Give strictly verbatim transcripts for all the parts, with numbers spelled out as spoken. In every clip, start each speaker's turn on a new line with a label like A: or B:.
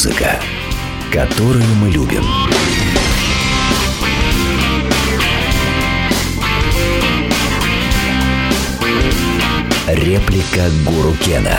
A: Музыка, которую мы любим. Реплика Гуру Кена.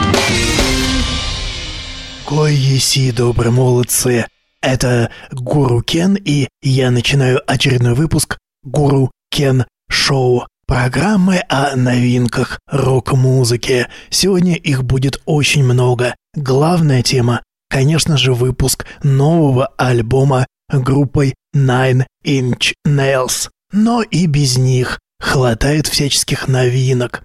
B: Кой еси, добрые молодцы! Это Гуру Кен, и я начинаю очередной выпуск Гуру Кен Шоу. Программы о новинках рок-музыки. Сегодня их будет очень много. Главная тема, конечно же, выпуск нового альбома группой Nine Inch Nails. Но и без них хватает всяческих новинок.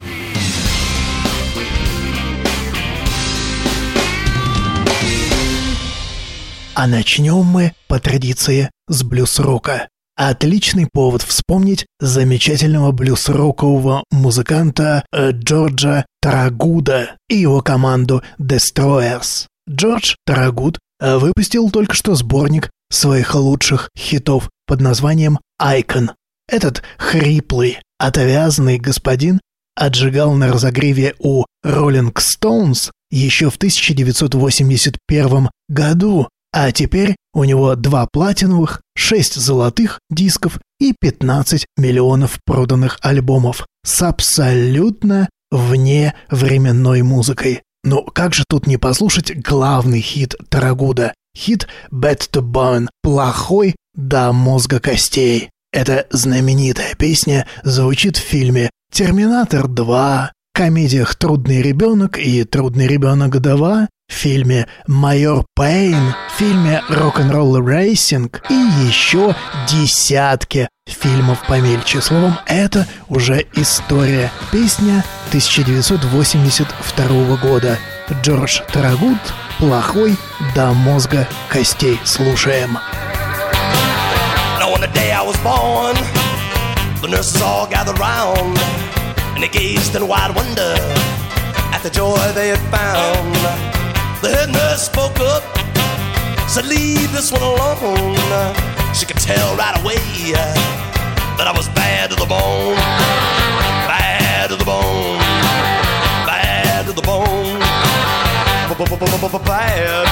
B: А начнем мы, по традиции, с блюз-рока. Отличный повод вспомнить замечательного блюз-рокового музыканта э, Джорджа Тарагуда и его команду Destroyers. Джордж Тарагуд э, выпустил только что сборник своих лучших хитов под названием «Icon». Этот хриплый, отвязанный господин отжигал на разогреве у Rolling Stones еще в тысяча девятьсот восемьдесят первом году, а теперь у него два платиновых, шесть золотых дисков и пятнадцать миллионов проданных альбомов с абсолютно вневременной музыкой. Ну как же тут не послушать главный хит Тарагуда? Хит «Bad to Bone» – «Плохой до мозга костей». Эта знаменитая песня звучит в фильме «Терминатор два», комедиях «Трудный ребенок» и «Трудный ребенок два», в фильме «Майор Пейн», в фильме «Рок-н-ролл рейсинг» и еще десятки фильмов помельче. Словом, это уже история. Песня тысяча девятьсот восемьдесят второго года. Джордж Тарагуд «Плохой до мозга костей». Слушаем.
C: On the day I was born, the nurses all gathered round, and they gazed in wide wonder at the joy they had found. The head nurse spoke up, said, "Leave this one alone." She could tell right away that I was bad to the bone, bad to the bone, bad to the bone, bad, bad,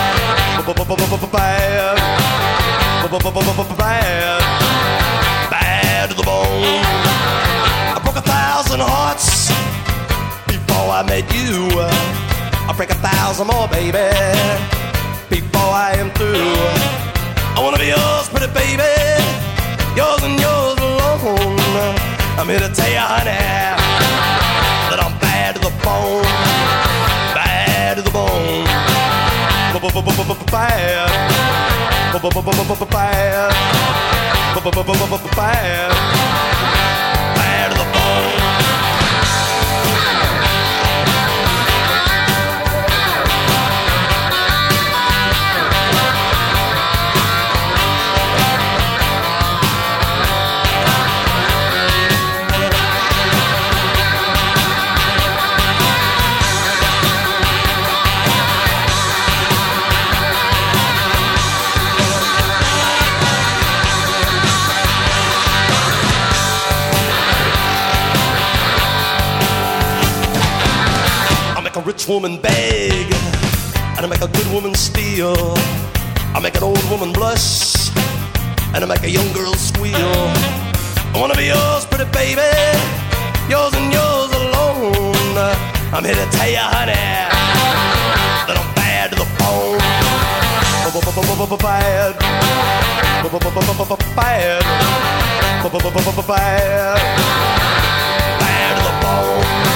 C: bad, bad to the bone. I broke a thousand hearts before I met you. I'll break a thousand more, baby, before I am through. I wanna be yours, pretty baby, yours and yours alone. I'm here to tell you, honey, that I'm bad to the bone, bad to the bone, bad, bad, bad, bad to the bone. Rich woman beg, and I make a good woman steal. I make an old woman blush, and I make a young girl squeal. I wanna be yours, pretty baby, yours and yours alone. I'm here to tell you, honey, that I'm bad to the bone. Bad, bad, bad, bad to the bone.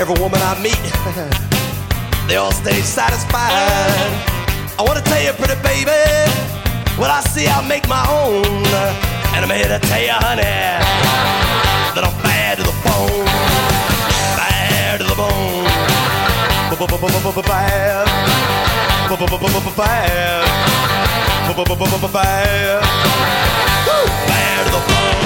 C: every woman I meet, they all stay satisfied. I want to tell you, pretty baby, what I see I'll make my own. And I'm here to tell you, honey, that I'm bad to the bone, bad to the bone, bad, bad, bad, bad to the bone.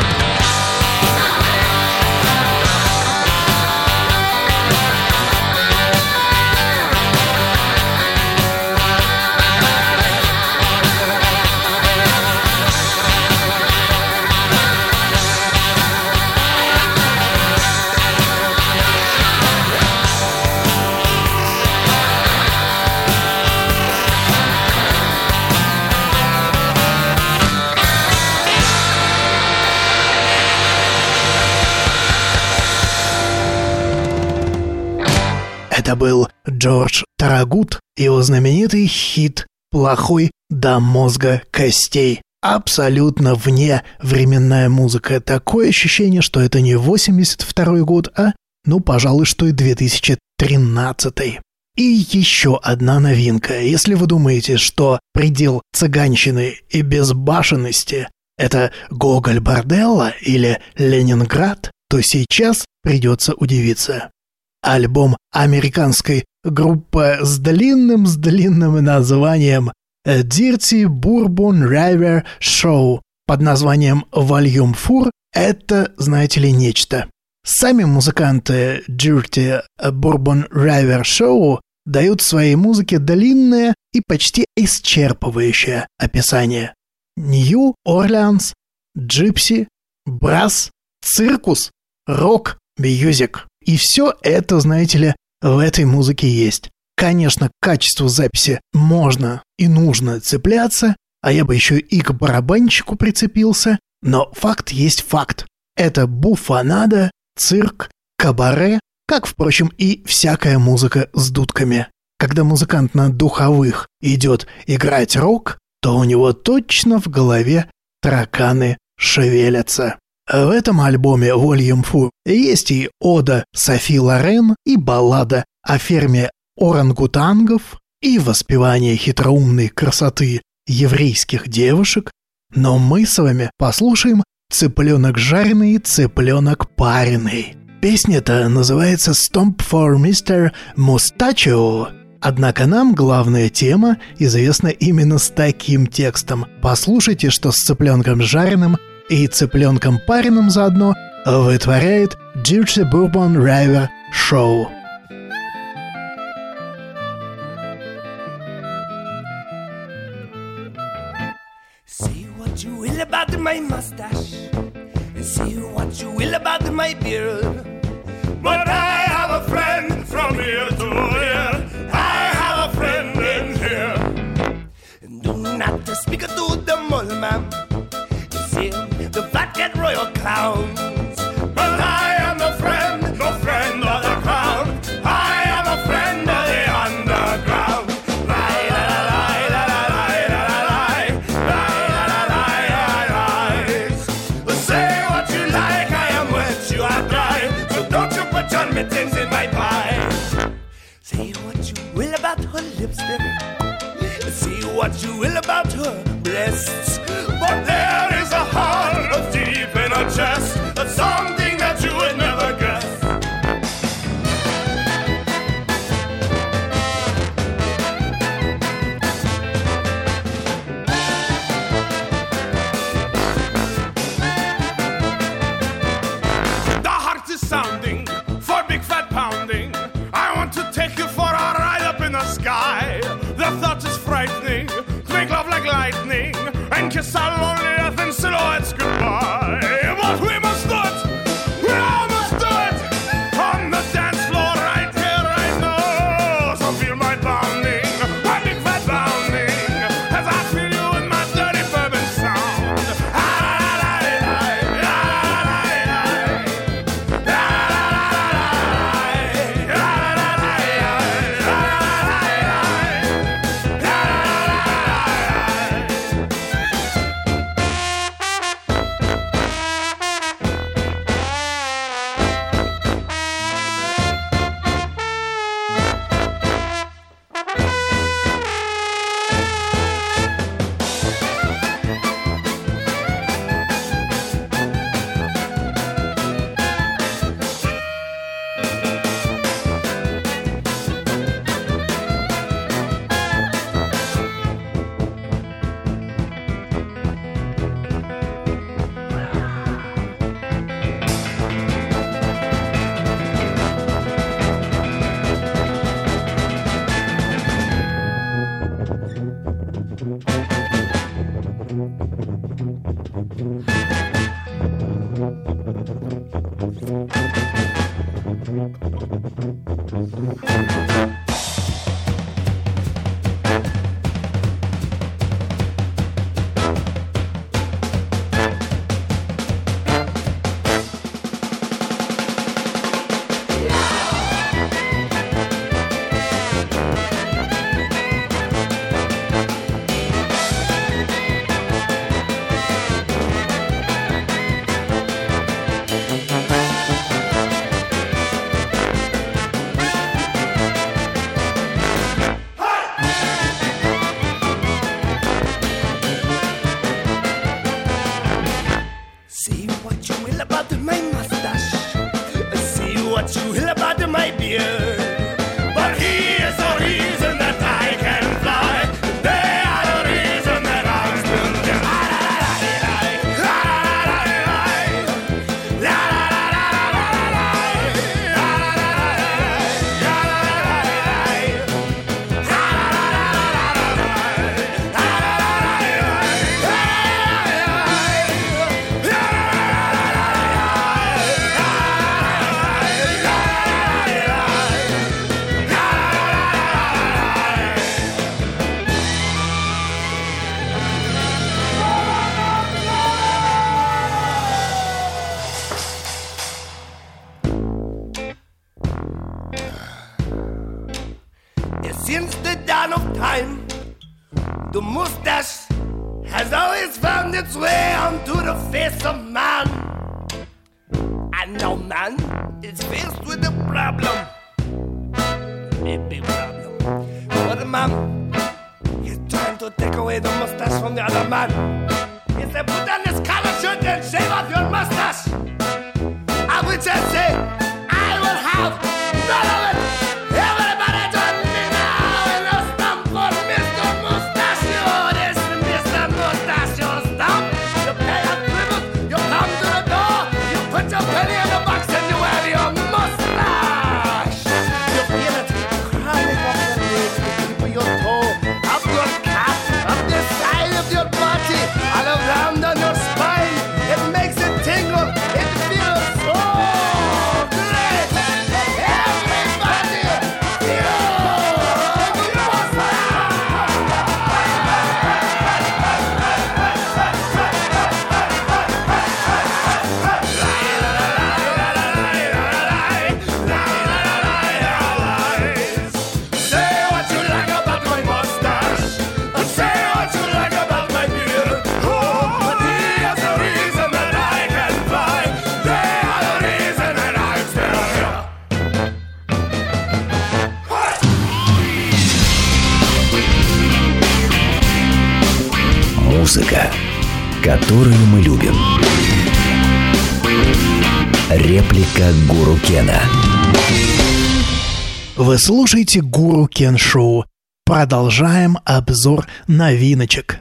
B: Это был Джордж Тарагуд и его знаменитый хит «Плохой до мозга костей». Абсолютно вне временная музыка. Такое ощущение, что это не восемьдесят второй год, а, ну, пожалуй, что и две тысячи тринадцатый. И еще одна новинка. Если вы думаете, что предел цыганщины и безбашенности – это Гоголь-Борделло или Ленинград, то сейчас придется удивиться. Альбом американской группы с длинным, с длинным названием Dirty Bourbon River Show под названием Volume четыре – это, знаете ли, нечто. Сами музыканты Dirty Bourbon River Show дают своей музыке длинное и почти исчерпывающее описание. Нью-Орлеанс, джипси, брасс, циркус, рок, мьюзик. И все это, знаете ли, в этой музыке есть. Конечно, к качеству записи можно и нужно цепляться, а я бы еще и к барабанщику прицепился, но факт есть факт. Это буфонада, цирк, кабаре, как, впрочем, и всякая музыка с дудками. Когда музыкант на духовых идет играть рок, то у него точно в голове тараканы шевелятся. В этом альбоме Volume четыре есть и ода Софи Лорен, и баллада о ферме орангутангов, и воспевание хитроумной красоты еврейских девушек, но мы с вами послушаем «Цыпленок жареный, цыпленок пареный». Песня-то называется «Stomp for мистер Mustachio». Однако нам главная тема известна именно с таким текстом. Послушайте, что с цыпленком жареным и цыпленком пареным заодно вытворяет Dirty Bourbon River Show.
C: Say what you will about my mustache, and say what you will about my beard, but I have a friend from here to here. I have a friend in here. Do not speak to the mole man. The fat cat royal clowns, but I am a friend, no friend of the crown. I am a friend of the underground. Lie, la, la, la, la, la, la, la, la, la, la. Say what you like, I am wet, you are dry. So don't you put your mittens in my pie. Say what you will about her lipstick. Say what you will about her breasts. But there is a heart deep in her chest. That's something that you would never guess. The heart is sounding for big fat pounding. I want to take you for a ride up in the sky. The thought is frightening. Make love like lightning and kiss our lonely earth in silhouettes goodbye. But we must do it, we all must do it, on the dance floor right here, right now. So feel my pounding, my big fat pounding, as I feel you in my dirty bourbon sound. Since the dawn of time, the mustache has always found its way onto the face of man. And now man is faced with a problem, a big problem. For the man, he's trying to take away the mustache from the other man. He said, put on this collar shirt and shave off your mustache. I would just say, I will have none of it. Everybody join me now in a stamp for Mister Mustachio. This is Mister Mustachio stamp. You pay a tribute, you come to the door, you put your penny in the box and you have your mustache. You feel it crawling up your legs, the tip of your toe, up your calf, up the side of your body, all around on your spine. It makes it tingle. It feels so great. Everybody feel the Say what you like about my mustache. Say what you like about my beard. Oh, but here's the reason that I can fly. They are the reason that I'm still here.
A: Музыка, которую мы любим. Реплика Гуру Кена.
B: Вы слушаете Гуру Кен Шоу. Продолжаем обзор новиночек.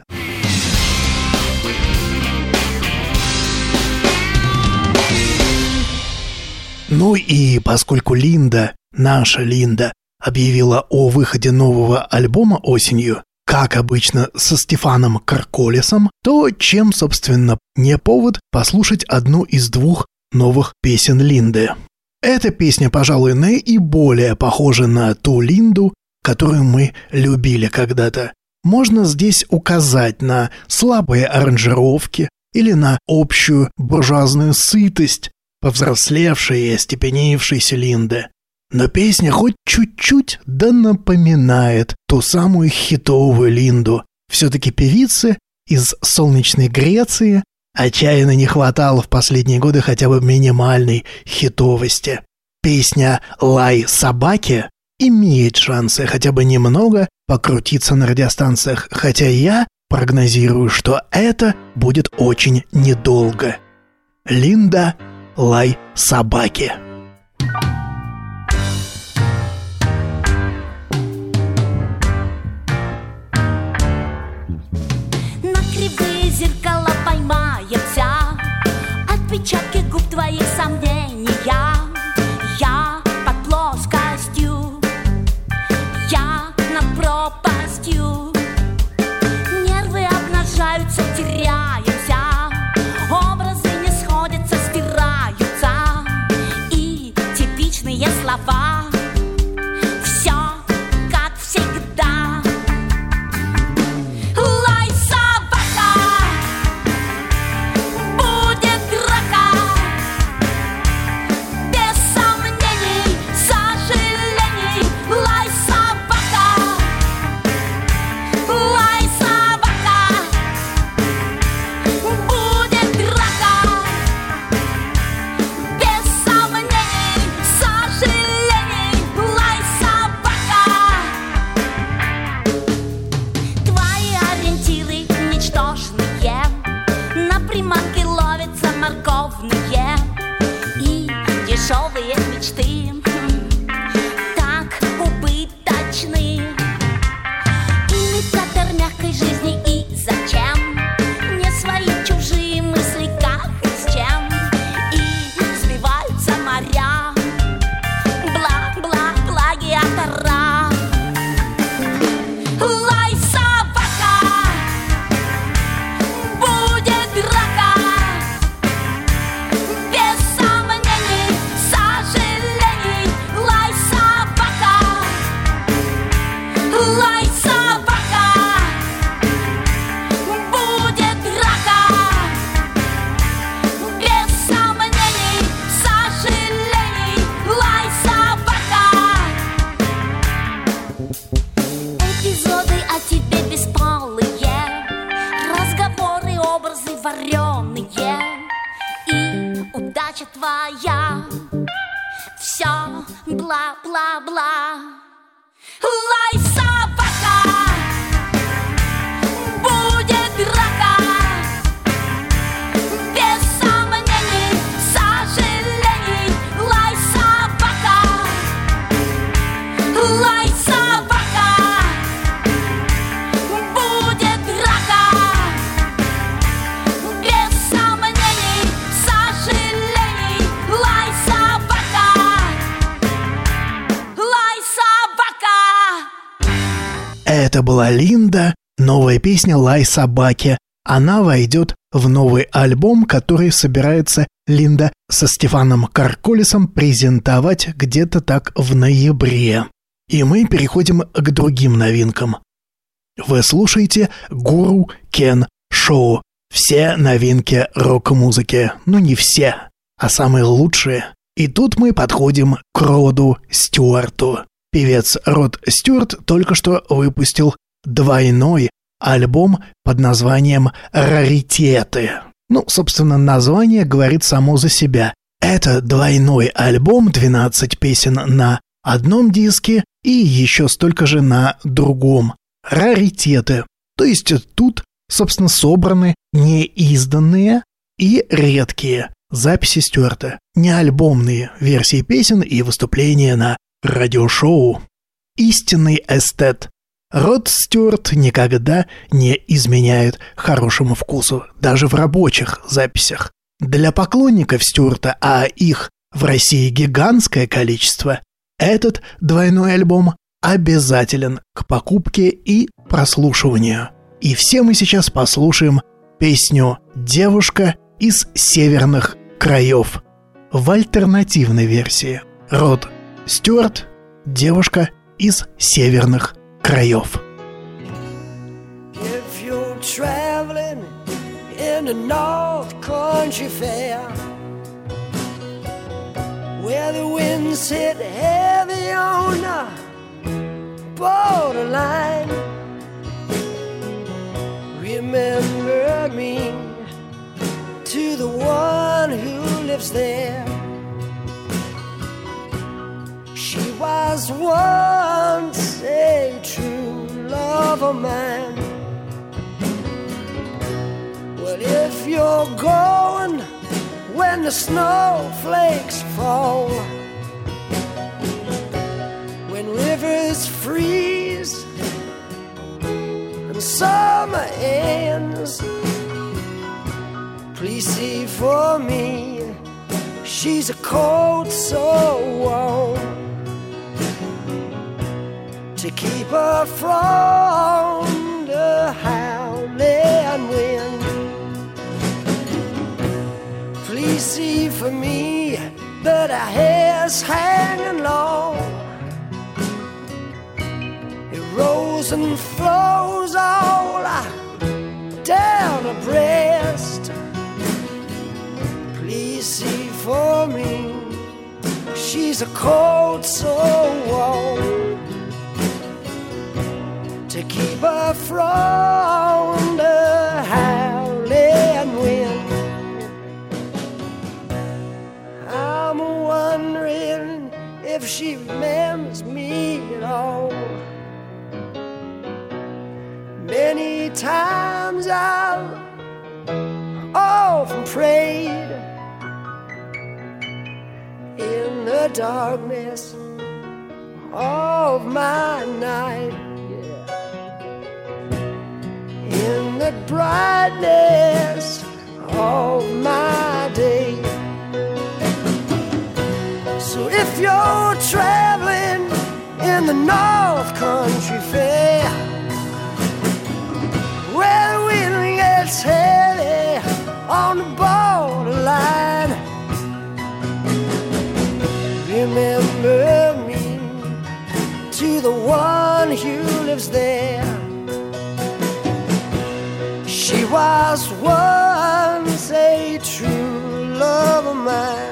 B: Ну и поскольку Линда, наша Линда, объявила о выходе нового альбома осенью, как обычно со Стефаном Карколесом, то чем, собственно, не повод послушать одну из двух новых песен Линды. Эта песня, пожалуй, наиболее похожа на ту Линду, которую мы любили когда-то. Можно здесь указать на слабые аранжировки или на общую буржуазную сытость повзрослевшей и остепенившейся Линды. Но песня хоть чуть-чуть да напоминает ту самую хитовую Линду. Все-таки певицы из солнечной Греции отчаянно не хватало в последние годы хотя бы минимальной хитовости. Песня «Лай собаки» имеет шансы хотя бы немного покрутиться на радиостанциях, хотя я прогнозирую, что это будет очень недолго. Линда «Лай собаки».
D: Зеркала поймаемся, отпечатки губ твоих сомнения. Я под плоскостью, я над пропастью. вареные, и удача твоя. Все бла-бла-бла. Лай, собака, будет драка. Без сомнений, сожалений. Лай, собака, лай, собака, будет драка. Без сомнений, сожалений. Лай, собака, лай, собака.
B: Это была Линда, новая песня «Лай собаке». Она войдет в новый альбом, который собирается Линда со Стефаном Карколисом презентовать где-то так в ноябре. И мы переходим к другим новинкам. Вы слушаете Гуру Кен Шоу. Все новинки рок-музыки. Ну не все, а самые лучшие. И тут мы подходим к Роду Стюарту. Певец Род Стюарт только что выпустил двойной альбом под названием «Раритеты». Ну, собственно, название говорит само за себя. Это двойной альбом, двенадцать песен на одном диске и еще столько же на другом. Раритеты. То есть тут, собственно, собраны неизданные и редкие записи Стюарта, не альбомные версии песен и выступления на радиошоу. Истинный эстет. Род Стюарт никогда не изменяет хорошему вкусу, даже в рабочих записях. Для поклонников Стюарта, а их в России гигантское количество, этот двойной альбом обязателен к покупке и прослушиванию. И все мы сейчас послушаем песню «Девушка из северных краев» в альтернативной версии. Род Стюарт, «Девушка из северных краев».
E: If you're traveling in the North Country Fair, where the winds hit heavy on the borderline, remember me to the one who lives there. She was once a true love of mine. Well, if you're going when the snowflakes fall, when rivers freeze and summer ends, please see for me, she's a coat so warm to keep her from the howling wind. Please see for me that her hair's hanging long, it rolls and flows all down her breast. Please see for me, she's a coat so warm to keep her from the howling wind. I'm wondering if she remembers me at all. Many times I've often prayed in the darkness of my night, in the brightness of my day. So if you're traveling in the North Country Fair, where the wind gets heavy on the borderline, remember me to the one who lives there. She was once a true love of mine.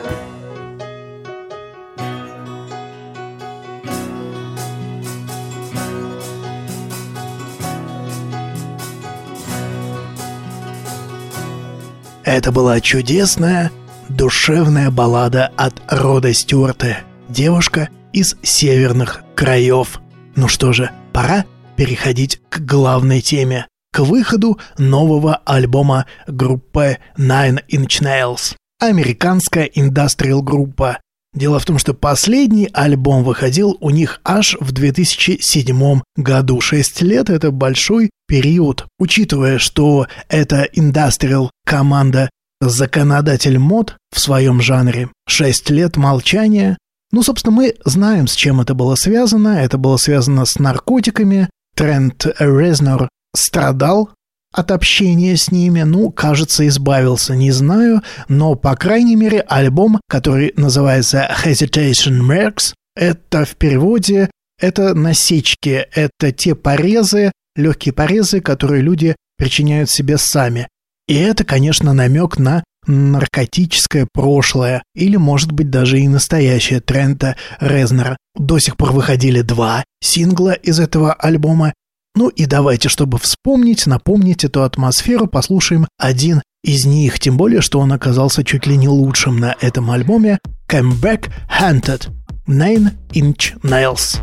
B: Это была чудесная, душевная баллада от Рода Стюарта, девушка из северных краев. Ну что же, пора переходить к главной теме, к выходу нового альбома группы Nine Inch Nails, американская индастриал-группа. Дело в том, что последний альбом выходил у них аж в две тысячи седьмом году. Шесть лет — это большой период. Учитывая, что это индастриал-команда, законодатель мод в своем жанре, шесть лет молчания. Ну, собственно, мы знаем, с чем это было связано. Это было связано с наркотиками. Трент Резнор страдал от общения с ними, ну, кажется, избавился, не знаю, но, по крайней мере, альбом, который называется Hesitation Marks, это в переводе, это насечки, это те порезы, легкие порезы, которые люди причиняют себе сами. И это, конечно, намек на наркотическое прошлое, или, может быть, даже и настоящее Трента Резнора. До сих пор выходили два сингла из этого альбома. Ну и давайте, чтобы вспомнить, напомнить эту атмосферу, послушаем один из них, тем более, что он оказался чуть ли не лучшим на этом альбоме. Come Back Haunted, Nine Inch Nails.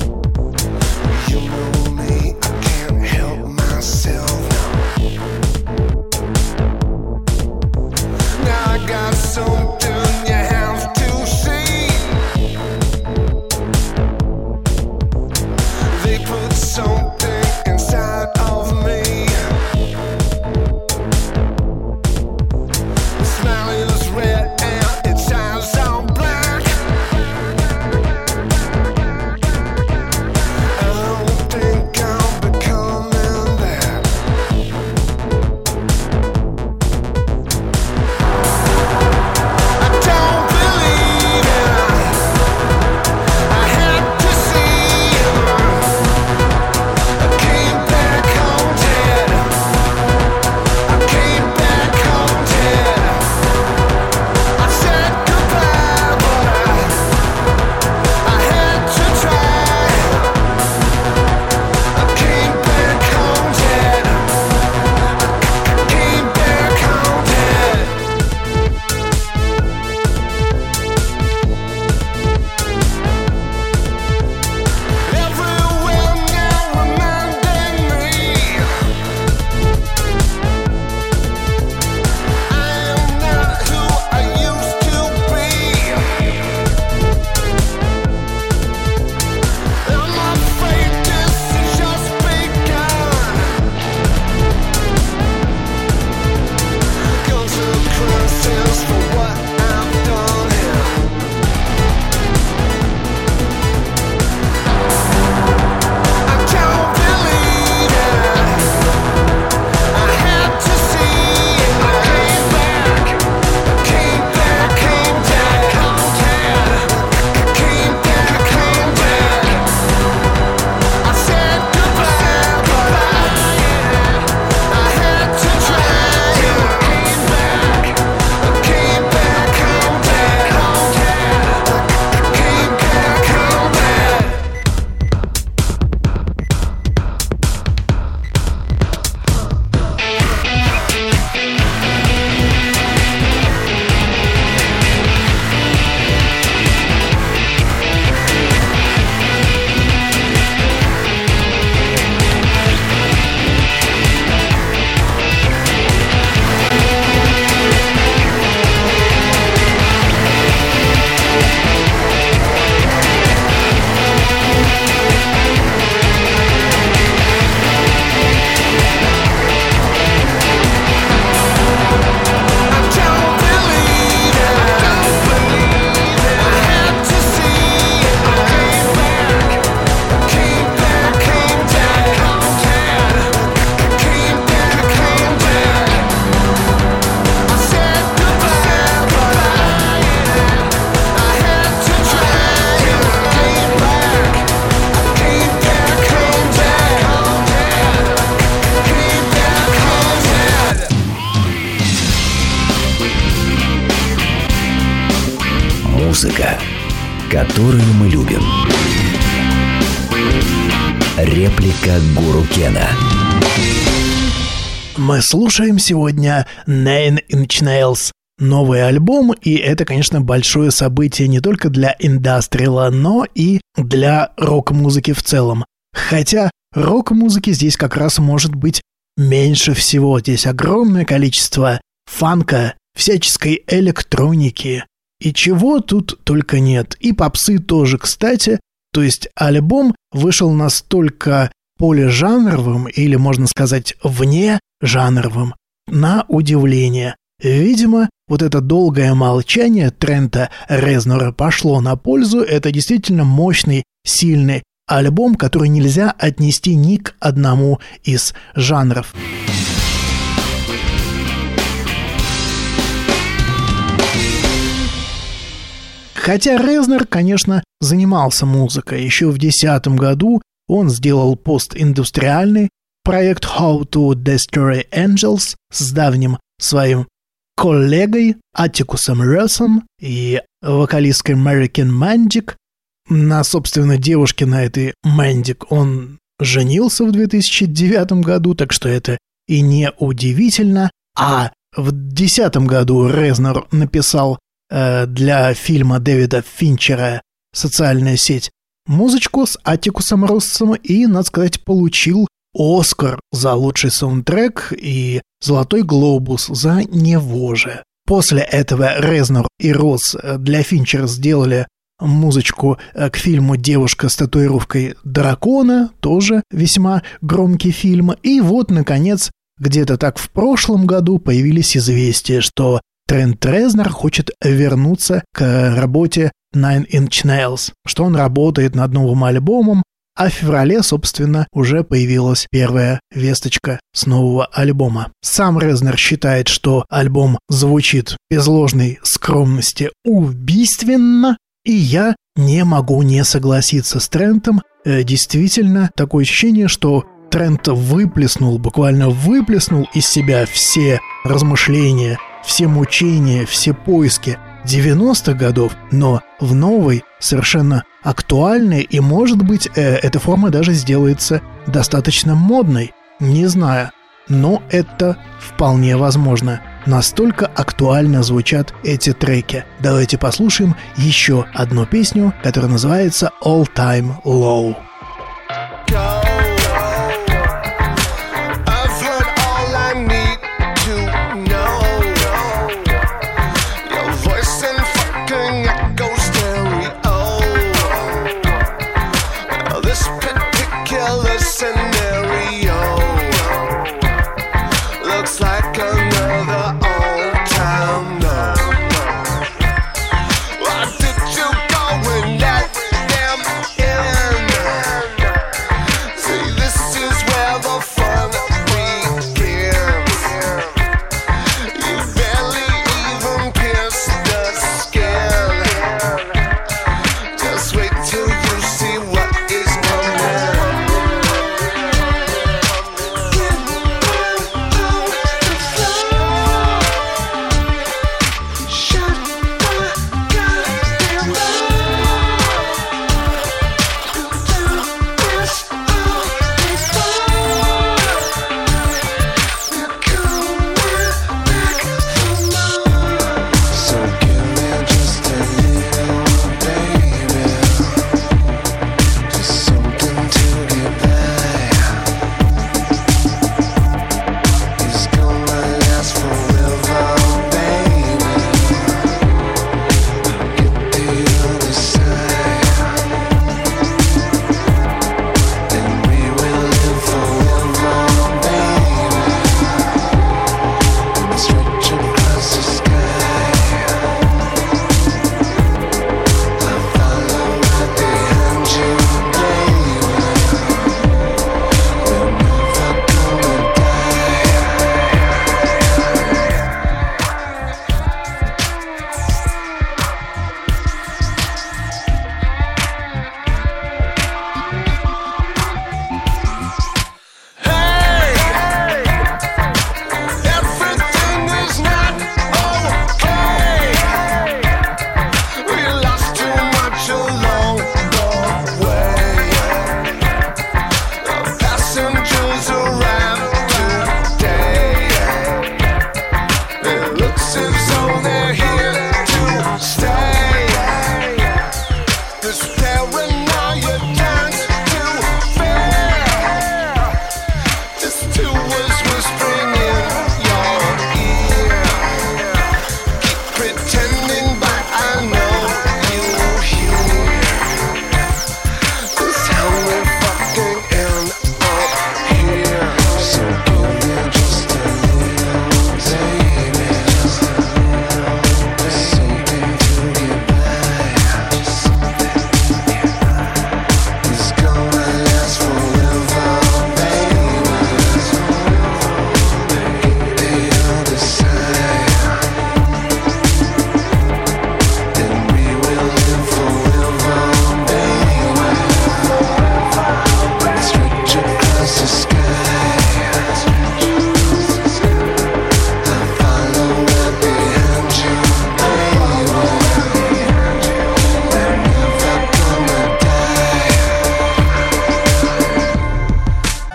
E: You know me, I can't help myself now.
A: Музыка, которую мы любим. Реплика Гуру Кена.
B: Мы слушаем сегодня Nine Inch Nails. Новый альбом, и это, конечно, большое событие не только для индастриала, но и для рок-музыки в целом. Хотя рок-музыки здесь как раз может быть меньше всего. Здесь огромное количество фанка, всяческой электроники. И чего тут только нет. И попсы тоже, кстати. То есть альбом вышел настолько полижанровым, или, можно сказать, внежанровым, на удивление. Видимо, вот это долгое молчание Трента Резнора пошло на пользу. Это действительно мощный, сильный альбом, который нельзя отнести ни к одному из жанров. Хотя Резнор, конечно, занимался музыкой. Еще в две тысячи десятом году он сделал постиндустриальный проект How to Destroy Angels с давним своим коллегой Аттикусом Россом и вокалисткой Мэрикен Мэндик. На, собственно, девушке на этой Мэндик он женился в две тысячи девятом году, так что это и не удивительно. А в две тысячи десятом году Резнор написал э, для фильма Дэвида Финчера «Социальная сеть» музычку с Аттикусом Россом и, надо сказать, получил Оскар за лучший саундтрек и Золотой глобус за него же. После этого Резнор и Росс для Финчера сделали музычку к фильму «Девушка с татуировкой дракона», тоже весьма громкий фильм. И вот, наконец, где-то так в прошлом году появились известия, что Трент Резнор хочет вернуться к работе Nine Inch Nails, что он работает над новым альбомом, а в феврале, собственно, уже появилась первая весточка с нового альбома. Сам Резнор считает, что альбом звучит без ложной скромности убийственно, и я не могу не согласиться с Трентом. Э, действительно, такое ощущение, что Трент выплеснул, буквально выплеснул из себя все размышления, все мучения, все поиски девяностых годов, но в новой, совершенно актуальной, и, может быть, э, эта форма даже сделается достаточно модной. Не знаю, но это вполне возможно. Настолько актуально звучат эти треки. Давайте послушаем еще одну песню, которая называется All Time Low.
E: Why did you go and let them in?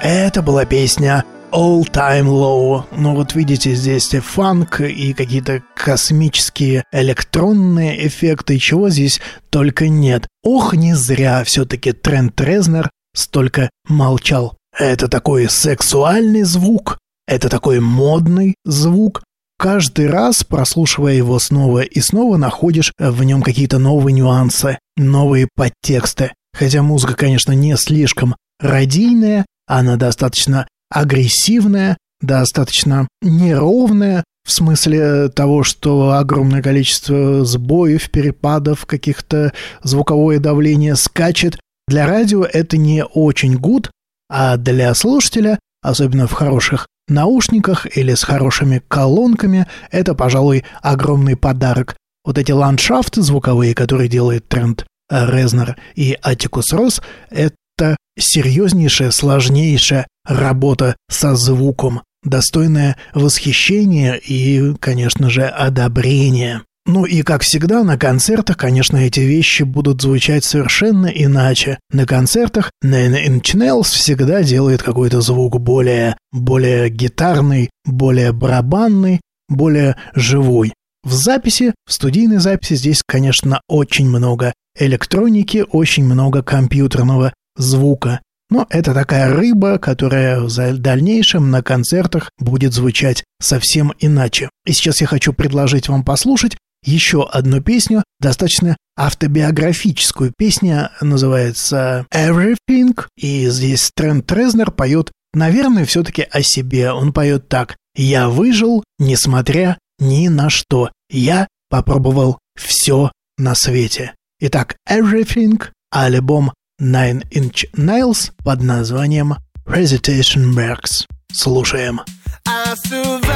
B: Это была песня All Time Low. Ну вот видите, здесь фанк и какие-то космические электронные эффекты, чего здесь только нет. Ох, не зря все-таки Трент Резнор столько молчал. Это такой сексуальный звук, это такой модный звук. Каждый раз, прослушивая его снова и снова, находишь в нем какие-то новые нюансы, новые подтексты. Хотя музыка, конечно, не слишком радийная, она достаточно агрессивная, достаточно неровная, в смысле того, что огромное количество сбоев, перепадов, каких-то звуковое давление скачет. Для радио это не очень гуд, а для слушателя, особенно в хороших наушниках или с хорошими колонками, это, пожалуй, огромный подарок. Вот эти ландшафты звуковые, которые делает Трент Резнор и Атикус Росс, это серьезнейшая, сложнейшая работа со звуком, достойная восхищения и, конечно же, одобрения. Ну и, как всегда, на концертах, конечно, эти вещи будут звучать совершенно иначе. На концертах Nine Inch Nails всегда делает какой-то звук более, более гитарный, более барабанный, более живой. В записи, в студийной записи здесь, конечно, очень много электроники, очень много компьютерного звука. Но это такая рыба, которая в дальнейшем на концертах будет звучать совсем иначе. И сейчас я хочу предложить вам послушать еще одну песню, достаточно автобиографическую. Песня называется Everything, и здесь Трент Резнор поет, наверное, все-таки о себе. Он поет так: «Я выжил, несмотря ни на что. Я попробовал все на свете». Итак, Everything, альбом Nine Inch Nails под названием Hesitation Marks. Слушаем.
E: I survived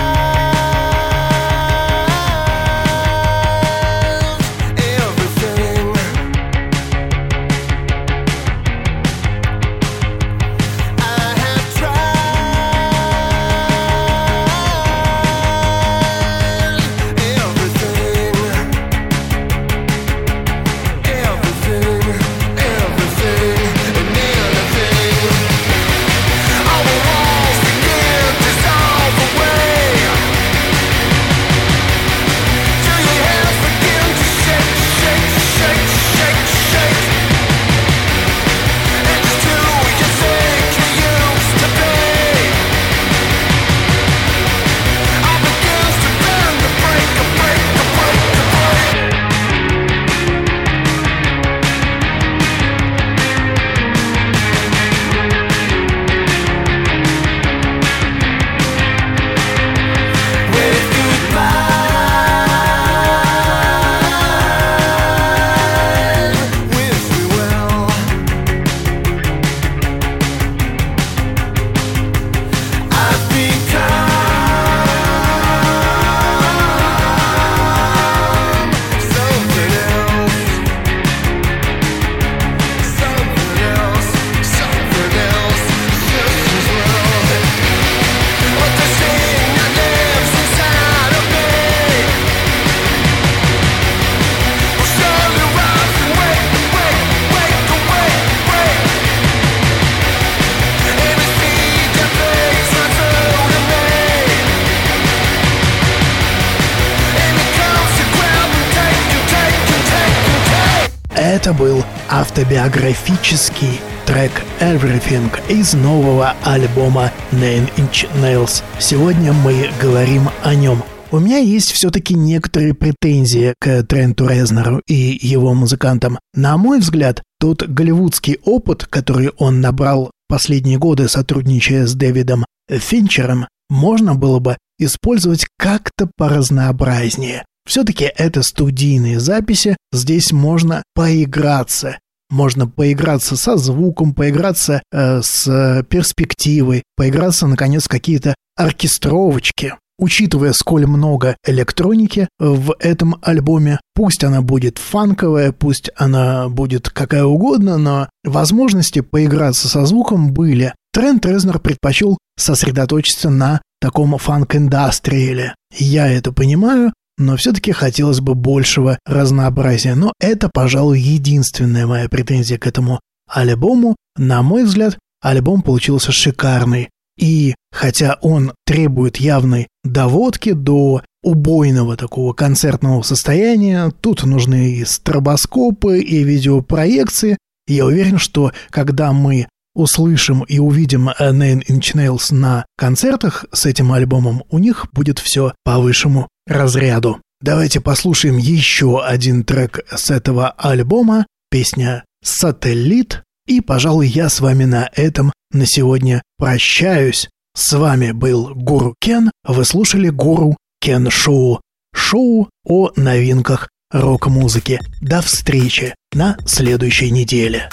E: everything. I have tried everything, everything, everything, and anything. All the walls begin to dissolve away. Till your hands begin to shake, shake, shake, shake, shake. And just who you think you used to be all begins to bend, to break, to break, to break, to break. Wave goodbye, wish me well. I've become something else, something else, something else, just as well. But the thing that lives inside of me will surely rise and wake, wake, wake, wake, wake. Every seed that breaks my throat in me, and it comes to grab and take and take and take and take.
B: Это был автобиографический трек Everything из нового альбома Nine Inch Nails. Сегодня мы говорим о нем. У меня есть все-таки некоторые претензии к Тренту Резнору и его музыкантам. На мой взгляд, тот голливудский опыт, который он набрал последние годы, сотрудничая с Дэвидом Финчером, можно было бы использовать как-то поразнообразнее. Все-таки это студийные записи, здесь можно поиграться. Можно поиграться со звуком, поиграться э, с перспективой, поиграться, наконец, в какие-то оркестровочки. Учитывая, сколь много электроники в этом альбоме, пусть она будет фанковая, пусть она будет какая угодно, но возможности поиграться со звуком были. Трент Резнор предпочел сосредоточиться на таком фанк-индастриале. Я это понимаю, но все-таки хотелось бы большего разнообразия. Но это, пожалуй, единственная моя претензия к этому альбому. На мой взгляд, альбом получился шикарный. И хотя он требует явной доводки до убойного такого концертного состояния, тут нужны и стробоскопы, и видеопроекции. Я уверен, что когда мы услышим и увидим Nine Inch Nails на концертах с этим альбомом, у них будет все по высшему разряду. Давайте послушаем еще один трек с этого альбома, песня «Сателлит». И, пожалуй, я с вами на этом на сегодня прощаюсь. С вами был Гуру Кен. Вы слушали Гуру Кен Шоу. Шоу о новинках рок-музыки. До встречи на следующей неделе.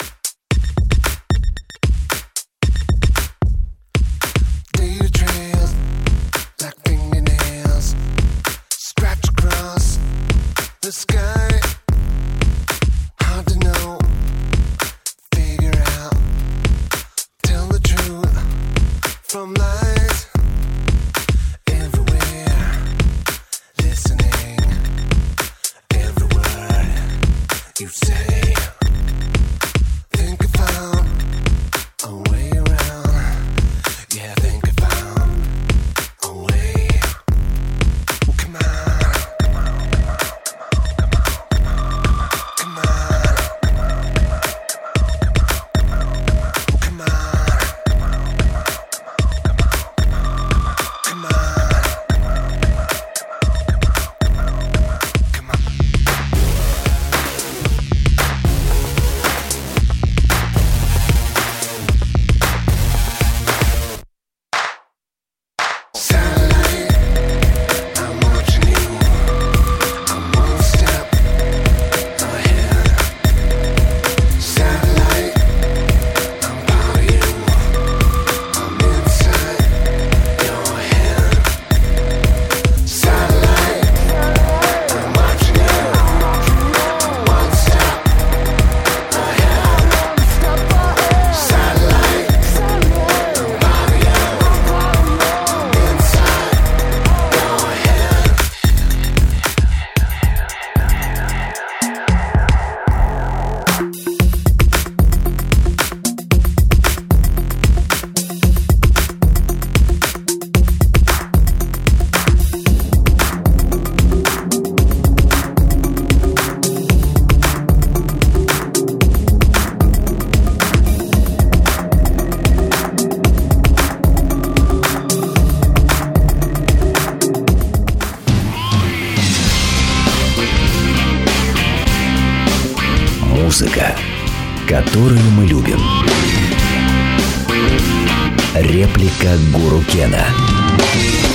E: From lies everywhere, listening every word you say. Think I found a way around. Yeah, I think I found a way. Well, come on, come on, come on, well, come on.
A: Музыка, которую мы любим. Реплика Гуру Кена.